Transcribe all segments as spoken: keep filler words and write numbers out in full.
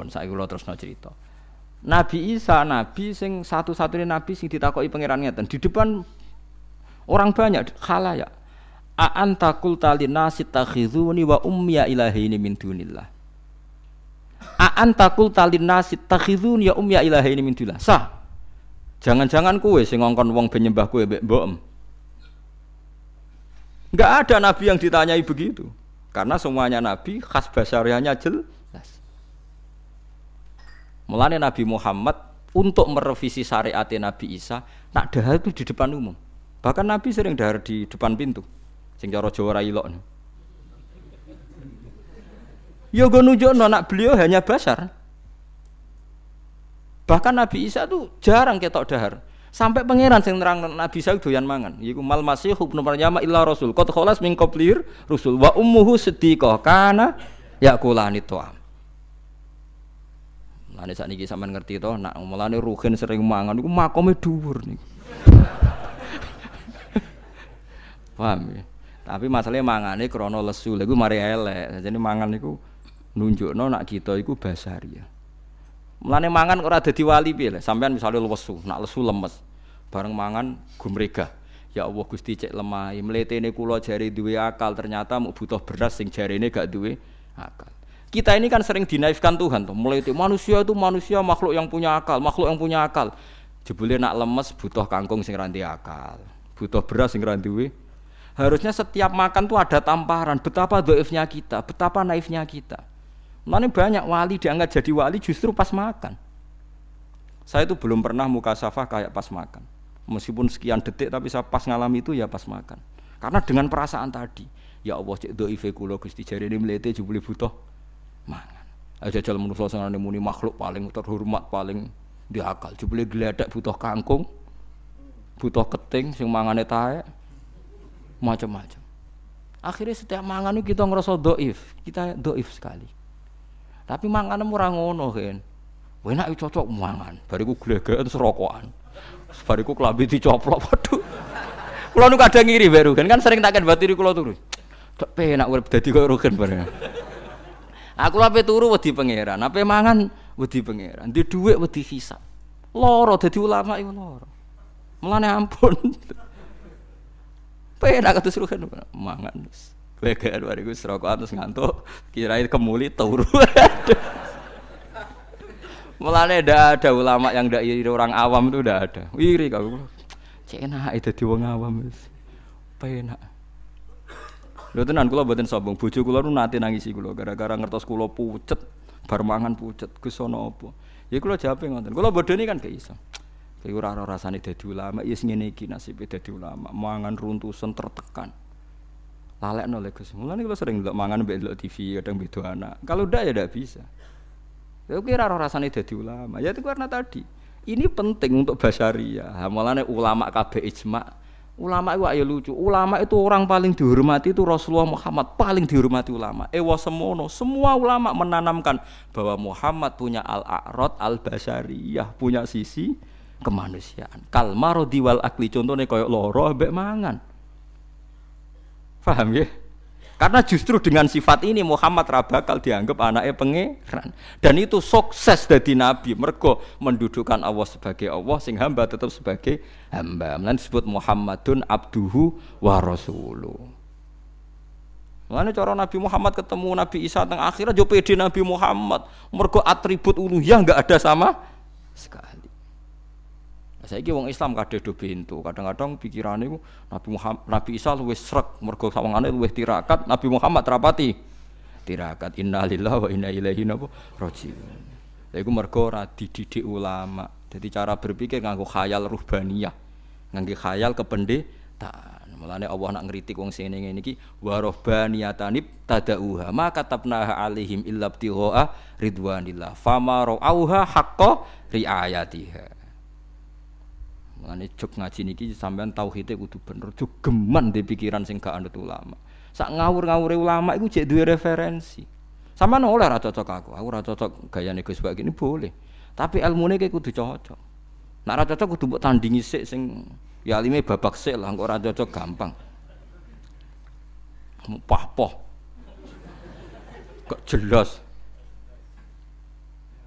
Pun saiki kula terusno cerita. Nabi Isa nabi sing satu-satunya nabi sing ditakoki pangeran ngeten di depan orang banyak khalayak. A anta qulta linnasi takhizuni wa ummiya ilahaini min dunillah. A anta qulta linnasi takhizuni ya ummiya ilahaini min dunillah. Sah. Jangan-jangan kowe sing ngongkon wong ben nyembah kowe mbek mbokem. Enggak ada nabi yang ditanyai begitu. Karena semuanya nabi khas basariahnya jelas. Mulane Nabi Muhammad untuk merevisi syariat Nabi Isa, nak dahar itu di depan umum. Bahkan Nabi sering dahar di depan pintu. Sing cara Jawa ra ilok. Ya go nunjukno nak beliau hanya basar. Bahkan Nabi Isa tuh jarang ketok dahar. Sampai pangeran sing nerang Nabi Isa doyan mangan. Iku mal masih ibnu Maryam illa rasul. Qad khalas min qablir rusul wa ummuhu siddiqah kana yakulani ta'am. Lane sakniki sampean ngerti to, nak mulane Ruhin sering mangan iku makome dhuwur niku. Paham ya? Tapi masalahnya mangane krana lesu. Lha iku mari elek. Jadi mangan niku nunjukno nak kita iku basaria. Mulane mangan ora dadi wali piye lho. Sampeyan misale lesu, nak lesu lemes. Bareng mangan gumregah. Ya Allah Gusti cek lemah. Mletene kula jare duwe akal, ternyata mung butuh beras sing jarene gak duwe akal. Kita ini kan sering dinaifkan Tuhan tuh. Mulai itu manusia itu manusia makhluk yang punya akal, makhluk yang punya akal. Jebule nak lemes butuh kangkung sing ra duwe akal. Butuh beras sing ra duwe. Harusnya setiap makan tuh ada tamparan. Betapa dhaifnya kita, betapa naifnya kita. Mana banyak wali diangkat jadi wali justru pas makan. Saya itu belum pernah mukasafah kayak pas makan. Meskipun sekian detik tapi saya pas ngalami itu ya pas makan. Karena dengan perasaan tadi, ya Allah cek dhaife kula Gusti jarene mlete jebule butuh mangan. Aja jajal manusa sing ana muni makhluk paling terhormat paling diakal. Jebule gledek butuh kangkung, butuh keting sing mangane taek, macam-macam. Akhirnya setiap mangan itu kita ngerasa dhaif, kita dhaif sekali. Tapi manganem ora ngono kan. Enak iki cocok mangan. Bariku glegeken serokokan. Bariku klambi dicoplok waduh. Kula nu kadang ngiri baru kan kan sering takkan batiri kula turu. Dak penak urip dadi koyo Rugen bareng. Aku ape turu wedi pangeran, ape mangan wedi pangeran. Di dhuwit wedi hisab. Loro dadi ulama iku loro. Mulane ampun. Penak kados Rugen mangan. Leger bariku serokokan terus ngantuk, kirain kemuli turu. Mulane ndak ada ulama yang ndak iri orang awam itu ndak ada. Iri kau. Cek enak dadi wong awam wis. Penak. Lho tenan kula mboten sombong, bojo kula nu nate nangisi kula gara-gara ngertos kula pucet, bar mangan pucet. Gus ana apa? Ya kula jawabe ngoten. Kula bodoni kan gak iso. Kayak ora ora rasane dadi ulama, ya sing ngene iki nasibe dadi ulama, mangan runtusan tertekan. Lalekno lek Gus. Mulane kula sering ndelok mangan mbek ndelok T V kadang beda anak. Kalau ndak ya ndak bisa. Ya kira ora rasane dadi ulama. Ya itu karena tadi. Ini penting untuk basyariah. Mulane ulama kabeh ijma. Ulama itu ayo lucu. Ulama itu orang paling dihormati itu Rasulullah Muhammad, paling dihormati ulama. Ewa semono, semua ulama menanamkan bahwa Muhammad punya al-a'rad al-basyariyah, punya sisi kemanusiaan. Kal marodi wal akli, contohnya koyo loro mbek mangan. Paham ya? Karena justru dengan sifat ini Muhammad ra bakal dianggap anaknya pangeran. Dan itu sukses dari Nabi. Mergo mendudukkan Allah sebagai Allah, sing hamba tetap sebagai hamba. Mulane disebut Muhammadun abduhu wa rasuluh. Mulane cara Nabi Muhammad ketemu Nabi Isa teng akhirat yo pede Nabi Muhammad. Mergo atribut uluhiyah enggak ada sama sekali. Saiki wong Islam kadhe do bento, kadang-kadang pikirane iku Nabi Muhammad, Nabi Isa luwih srek mergo sawangane luwih tirakat, Nabi Muhammad rapati tirakat. Innalillahi wa inna ilaihi raji'un. Lha iku mergo ora dididik ulama. Jadi cara berpikir nganggo khayal ruhbaniyah, nganggo khayal kependetaan. Mulane Allah nak ngritik wong sing ngene iki wa ruhbaniyatanib tadauha ma katabnaha alaihim illa ibtigha ridwanillah fama ra'auha haqqa riayatiha. Mulane jog ngaji niki sampean tauhide kudu bener, jog geman di pikiran sing gak anut ulama. Sak ngawur-ngawure ulama iku jek duwe referensi. Sampeyan oleh ra cocok aku, aku ra cocok gayane Gus Bak ini boleh. Tapi ilmune ki kudu cocok. Nek ra cocok kudu mbok tandingi sik sing ya alime babak sik lah, kok ora cocok gampang. Pah-poh. Kok jelas.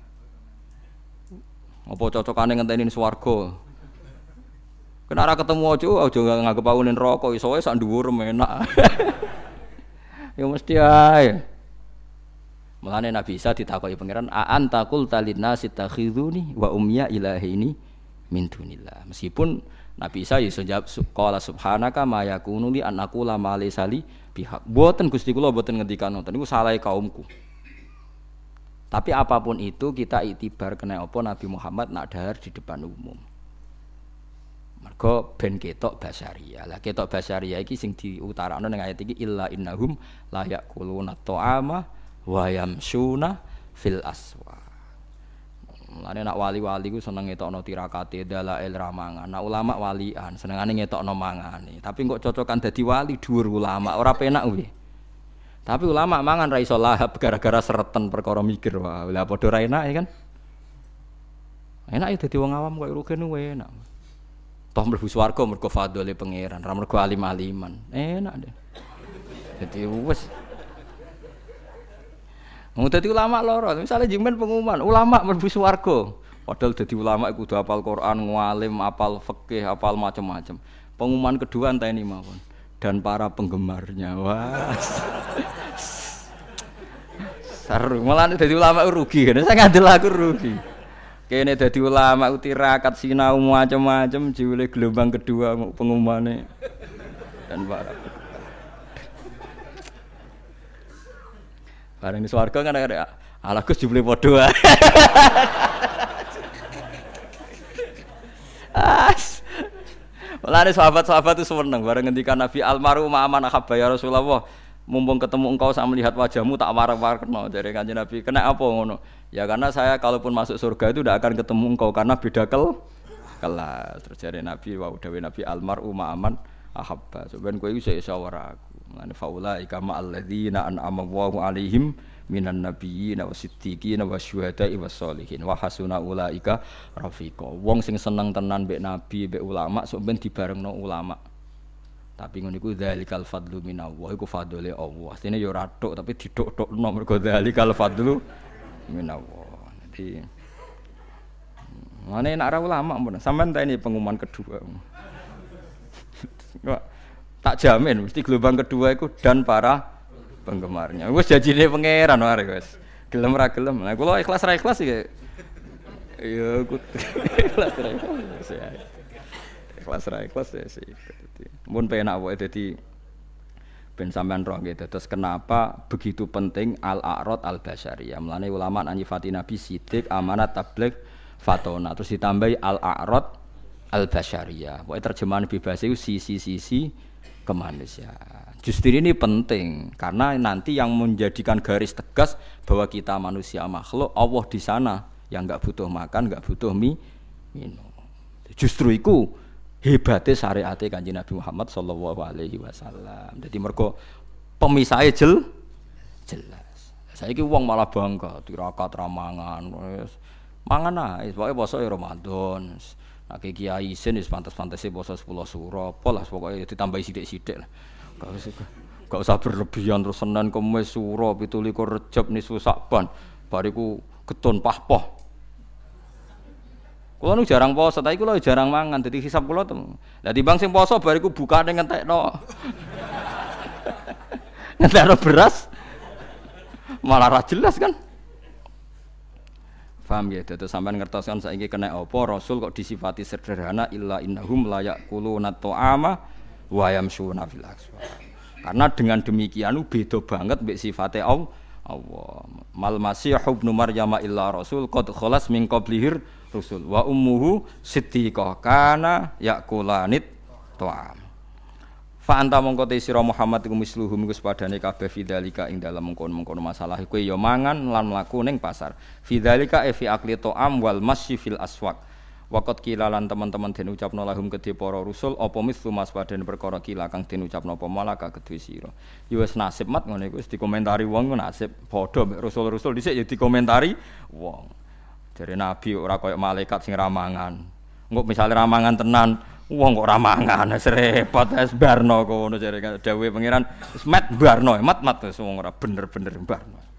Apa cocokane ngenteni swarga? Kena ora ketemu aja aja nganggep aku ning neraka iso wae sak dhuwur enak. Ya mesti ae. Mulane Nabi Isa ditakoki pangeran, "A anta qulta linnasi takhizuni wa ummiya ilahaini min dunillah." Meskipun Nabi Isa iso jawab qala subhanaka ma yakunu li an aqula ma laysa li bihaq. Mboten Gusti kula mboten ngendikan ngoten niku salahe kaumku. Tapi apapun itu kita itibar kena apa Nabi Muhammad nak dahar di depan umum. Mergo ben ketok basyariah. Lah ketok basyariah iki sing diutarakno ning ayat iki illa innahum la yaquluna ta'ama wa yamsuna fil aswa. Mulane nak wali-wali ku seneng ngetokno tirakate dalail ramangan. Nak ulama walian senengane ngetokno mangane. Tapi kok cocokan dadi wali dhuwur ulama ora penak kuwi. Tapi ulama mangan ra iso lahap gara-gara sereten perkara mikir wae. Lah padha ra enak ya kan? Enak ya dadi wong awam kok rugen wae enak. Toh mlebu swarga mergo fadhole pangeran, ra mergo alim-aliman. Enak deh. Dadi wis Mau dadi ulama loro, misalnya jimen pengumuman ulama mlebu swarga. Padahal dadi ulama iku kudu hafal Quran, ngalim, hafal fikih, hafal macam-macam. Pengumuman kedua enteni mawon dan para penggemarnya. Wah. Seru, malah dadi ulama rugi kan. Saya ngandel aku rugi. Kene dadi ulama tirakat sinau macam-macam jule gelombang kedua pengumumane dan para bareng di swarga kan ada ala Gus jebule padha wae. As. Mulane sahabat-sahabat itu seneng bareng ngendikan Nabi almaru ma'aman ahabba ya Rasulullah. Mumpung ketemu engkau sak melihat wajahmu tak warak-warakno dari Kanjeng Nabi. Kena apa ngono? Ya karena saya kalaupun masuk surga itu tidak akan ketemu engkau karena beda kel kelas. Terus dari Nabi wa dawe Nabi almaru ma'aman ahabba. Sampeyan kowe iso iso ora aku. Mane faula ikama alladzina an'ama Allahu 'alaihim minan nabiyyin wasiddiqin wasyuhada'i wassolihin wa hasuna ulaika rafiqa. Wong sing seneng tenan mbek nabi, mbek ulama sok ben dibarengno ulama. Tapi ngono iku dzalikal fadlu minallah, iku fadlule Allah. Astine ya ora tok tapi didok-dokno mergo dzalikal fadlu minallah. Jadi ngene nek ora ulama mun sampean tak ini pengumuman kedua. Tak jamin mesti gelombang kedua itu dan para penggemarnya. Wis janjine pangeran wae wis. Gelem ra gelem. Lah kula ikhlas ra ikhlas iki. Ya aku ikhlas ra ikhlas. Ikhlas ra ikhlas ya sih. Mun penak wae dadi ben sampean roh nggih. Terus kenapa begitu penting al-a'rad al-basyariyah. Mulane ulama nyifati Nabi sidik, amanat, tabligh, fatona. Terus ditambahi al-a'rad al-basyariyah. Pokoke terjemahan bebas itu sisi-sisi kemanusiaan. Justru ini penting karena nanti yang menjadikan garis tegas bahwa kita manusia makhluk Allah di sana yang enggak butuh makan, enggak butuh mie, minum. Justru itu hebatnya syariat Kanjeng Nabi Muhammad sallallahu alaihi wasallam. Jadi mergo pemisahnya jel jelas. Saiki wong malah bangga tirakat ramangan. Wis mangan ae, pokoke poso ya Ramadan. Nek kiai isin wis pantes-pantese poso sepuluh suro, pola pokoke ditambahi sithik-sithik lah. Gak usah gak usah berlebihan terus Senin Kamis suro pitu likur Rejab nisfu Sa'ban. Bariku getun pahpoh. Kulo nu jarang poso, tapi kulo jarang mangan dadi hisab kulo tem. Lah timbang sing poso bariku bukane ngentekno. Ngentekno beras malah ra jelas kan. Paham ya, terus sampean ngertosan saiki kena apa Rasul kok disifati sederhana illa innahum la yaquluna ta'ama wa yamshuna fil aswaq. Karena dengan demikian beda banget mbek sifate Allah. Mal masih ibnu Maryam illa rasul qad khalas min qablihir rusul wa ummuhu siddiqah kana yaqulanit ta'am. Fa anta mongko te sira Muhammad iku misluhum iku sepadane kabeh fidzalika ing dalem mengkono-mengkono masalah kowe ya mangan lan mlaku ning pasar. Fidzalika e fi aqli ta'am wal masyi fil aswaq. Waqat kilalan teman-teman den ucapno lahum kedhe para rusul apa mislu mas padane perkara kila kang den ucapno apa malaka kedhe sira. Ya wis nasib mat ngene iku wis dikomentari wong nasib padha mek rusul-rusul dhisik ya dikomentari wong. Jare nabi ora kaya malaikat sing ramangan. Engko misale ramangan tenan wong kok ramangan wis repot wis barno kono jare dawuhe pangeran wis mat barno mat mat wis wong ora bener-bener barno.